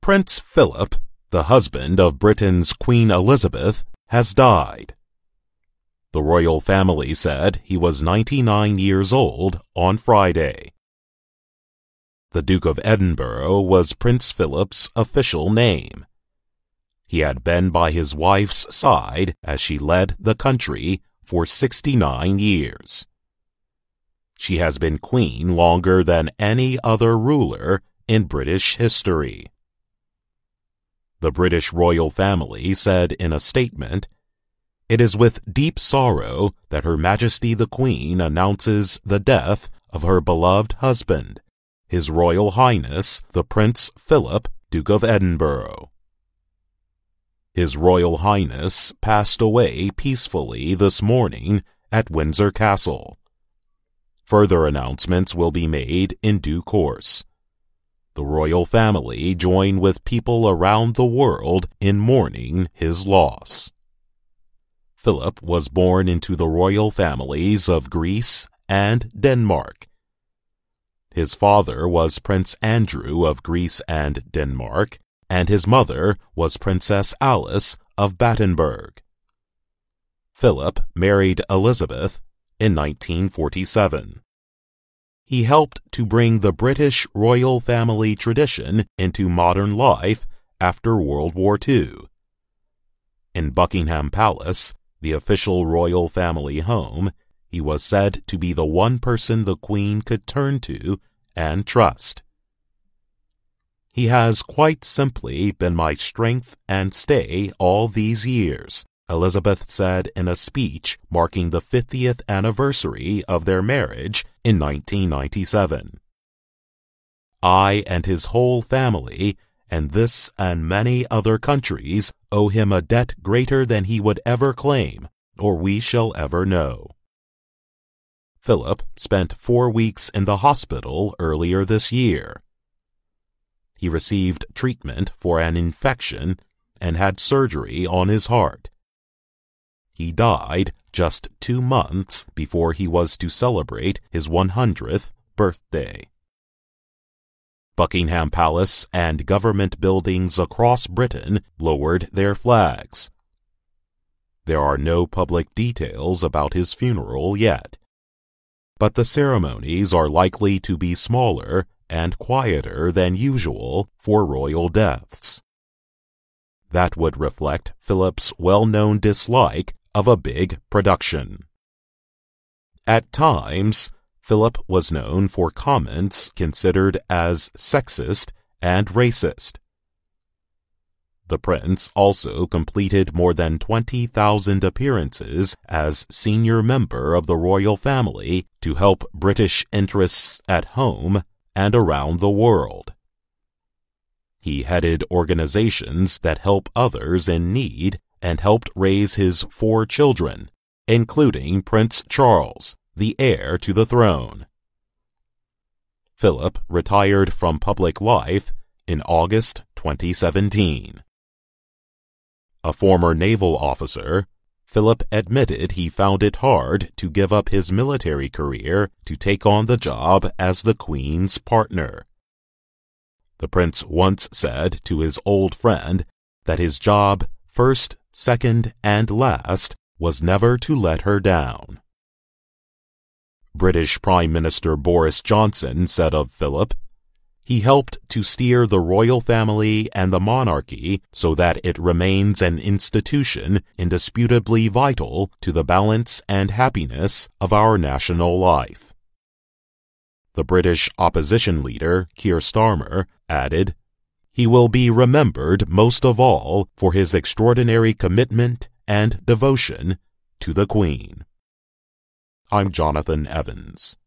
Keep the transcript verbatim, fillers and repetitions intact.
Prince Philip, the husband of Britain's Queen Elizabeth, has died. The royal family said he was ninety-nine years old on Friday. The Duke of Edinburgh was Prince Philip's official name. He had been by his wife's side as she led the country for sixty-nine years. She has been queen longer than any other ruler in British history. The British royal family said in a statement, "It is with deep sorrow that Her Majesty the Queen announces the death of her beloved husband, His Royal Highness the Prince Philip, Duke of Edinburgh." His Royal Highness passed away peacefully this morning at Windsor Castle. Further announcements will be made in due course. The royal family join with people around the world in mourning his loss. Philip was born into the royal families of Greece and Denmark. His father was Prince Andrew of Greece and Denmark, and his mother was Princess Alice of Battenberg. Philip married Elizabeth in nineteen forty-seven. He helped to bring the British royal family tradition into modern life after World War Two. In Buckingham Palace, the official royal family home, he was said to be the one person the Queen could turn to and trust. "He has quite simply been my strength and stay all these years," Elizabeth said in a speech marking the fiftieth anniversary of their marriage in nineteen ninety-seven. "I and his whole family, and this and many other countries, owe him a debt greater than he would ever claim, or we shall ever know." Philip spent four weeks in the hospital earlier this year. He received treatment for an infection and had surgery on his heart. He died just two months before he was to celebrate his one hundredth birthday. Buckingham Palace and government buildings across Britain lowered their flags. There are no public details about his funeral yet, but the ceremonies are likely to be smaller and quieter than usual for royal deaths. That would reflect Philip's well-known dislike of a big production. At times, Philip was known for comments considered as sexist and racist. The prince also completed more than twenty thousand appearances as senior member of the royal family to help British interests at home and around the world. He headed organizations that help others in need and helped raise his four children, including Prince Charles, the heir to the throne. Philip retired from public life in August twenty seventeen. A former naval officer, Philip admitted he found it hard to give up his military career to take on the job as the Queen's partner. The prince once said to his old friend that his job, first, second, and last, was never to let her down. British Prime Minister Boris Johnson said of Philip, "He helped to steer the royal family and the monarchy so that it remains an institution indisputably vital to the balance and happiness of our national life." The British opposition leader, Keir Starmer, added, "He will be remembered most of all for his extraordinary commitment and devotion to the Queen." I'm Jonathan Evans.